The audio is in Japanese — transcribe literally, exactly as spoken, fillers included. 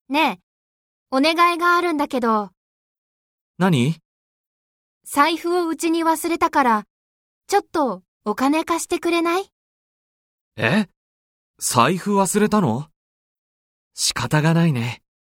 ねえ、お願いがあるんだけど、 何？ 財布をうちに忘れたから、ちょっとお金貸してくれない？ え？財布忘れたの？仕方がないね。